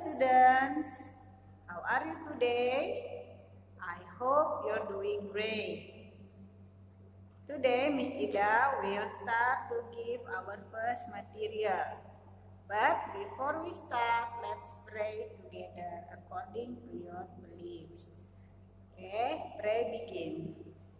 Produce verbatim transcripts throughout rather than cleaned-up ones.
students, how are you today? I hope you're doing great. Today Miss Ida will start to give our first material. But before we start, let's pray together according to your beliefs. Okay, pray begin.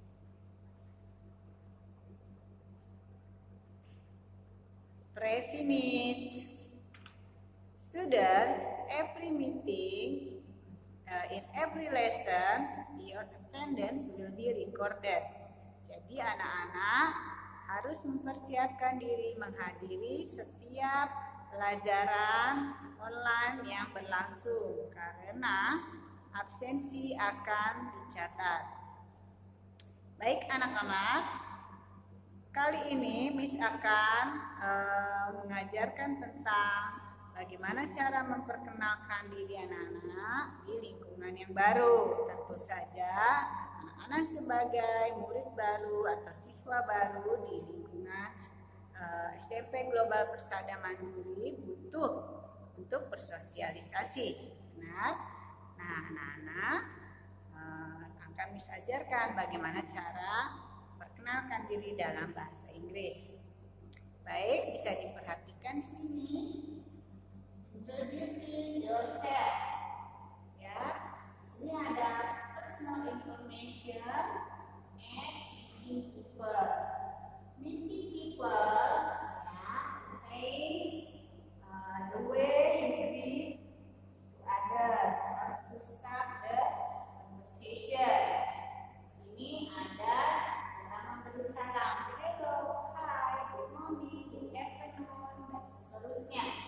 Pray finish. Students, every meeting, uh, in every lesson, your attendance will be recorded. Jadi anak-anak harus mempersiapkan diri menghadiri setiap pelajaran online yang berlangsung karena absensi akan dicatat. Baik anak-anak, kali ini Miss akan uh, mengajarkan tentang bagaimana cara memperkenalkan diri anak-anak di lingkungan yang baru. Tentu saja anak-anak sebagai murid baru atau siswa baru di lingkungan uh, S M P Global Persada Mandiri butuh untuk bersosialisasi. Benar? Nah, anak-anak uh, akan Miss ajarkan bagaimana cara perkenalkan diri dalam bahasa Inggris. Baik, bisa diperhatikan di sini. Introducing yourself. Ya, di sini ada personal information and meeting people. Meeting people, ya, means uh, the way you greet to others or to start the conversation. Di sini ada cara memberi salam. Hello, hi, good morning, good afternoon, dan seterusnya.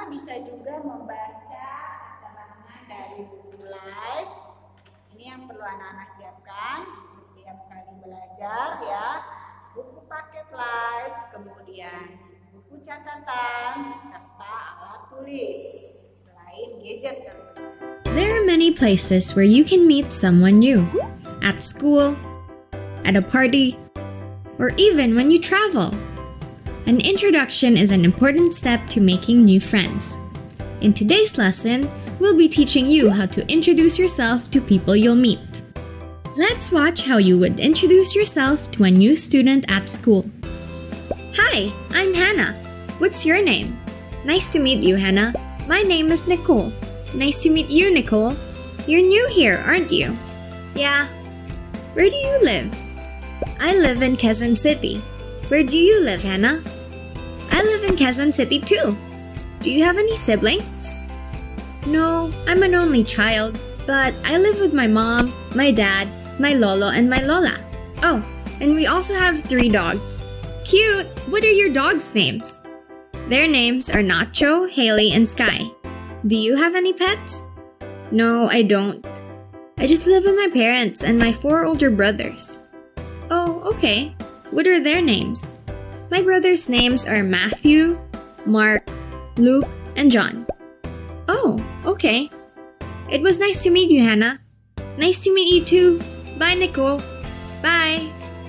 Hana bisa juga membaca keterangan dari buku Live. Ini yang perlu anak-anak siapkan setiap kali belajar ya. Buku paket Live, kemudian buku catatan, serta alat tulis. Selain gadget tentunya. There are many places where you can meet someone new. At school, at a party, or even when you travel. An introduction is an important step to making new friends. In today's lesson, we'll be teaching you how to introduce yourself to people you'll meet. Let's watch how you would introduce yourself to a new student at school. Hi, I'm Hannah. What's your name? Nice to meet you, Hannah. My name is Nicole. Nice to meet you, Nicole. You're new here, aren't you? Yeah. Where do you live? I live in Quezon City. Where do you live, Hannah? I live in Quezon City too. Do you have any siblings? No, I'm an only child, but I live with my mom, my dad, my lolo, and my lola. Oh, and we also have three dogs. Cute! What are your dogs' names? Their names are Nacho, Haley, and Sky. Do you have any pets? No, I don't. I just live with my parents and my four older brothers. Oh, okay. What are their names? My brothers' names are Matthew, Mark, Luke, and John. Oh, okay. It was nice to meet you, Hannah. Nice to meet you too. Bye, Nicole. Bye.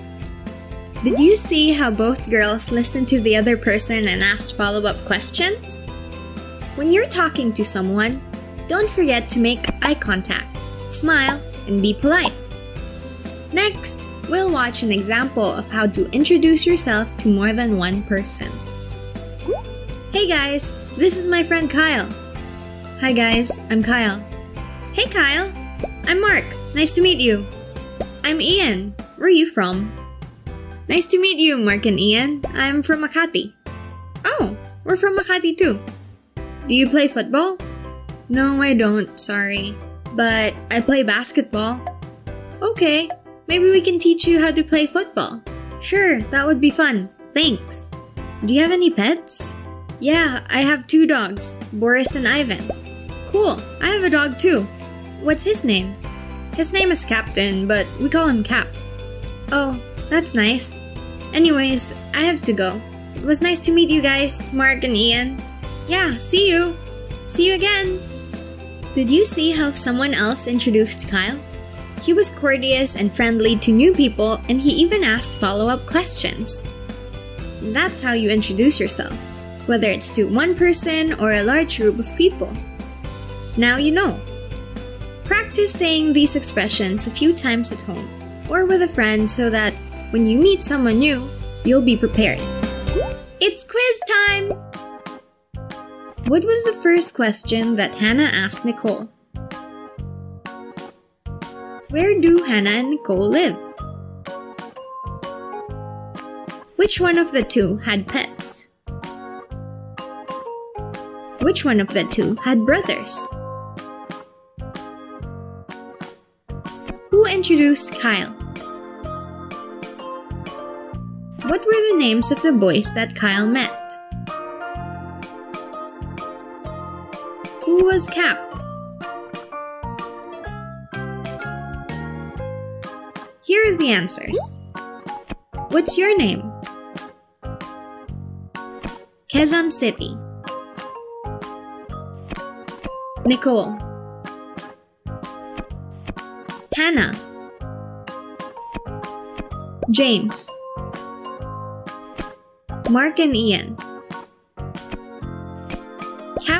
Did you see how both girls listened to the other person and asked follow-up questions? When you're talking to someone, don't forget to make eye contact, smile, and be polite. Next, we'll watch an example of how to introduce yourself to more than one person. Hey guys, this is my friend Kyle. Hi guys, I'm Kyle. Hey Kyle, I'm Mark. Nice to meet you. I'm Ian. Where are you from? Nice to meet you, Mark and Ian. I'm from Makati. Oh, we're from Makati too. Do you play football? No, I don't, sorry. But I play basketball. Okay. Maybe we can teach you how to play football. Sure, that would be fun. Thanks. Do you have any pets? Yeah, I have two dogs, Boris and Ivan. Cool, I have a dog too. What's his name? His name is Captain, but we call him Cap. Oh, that's nice. Anyways, I have to go. It was nice to meet you guys, Mark and Ian. Yeah, see you. See you again. Did you see how someone else introduced Kyle? He was courteous and friendly to new people, and he even asked follow-up questions. That's how you introduce yourself, whether it's to one person or a large group of people. Now you know. Practice saying these expressions a few times at home or with a friend so that when you meet someone new, you'll be prepared. It's quiz time! What was the first question that Hannah asked Nicole? Where do Hannah and Nicole live? Which one of the two had pets? Which one of the two had brothers? Who introduced Kyle? What were the names of the boys that Kyle met? Who was Cap? Here are the answers. What's your name? Quezon City. Nicole. Hannah. James. Mark and Ian.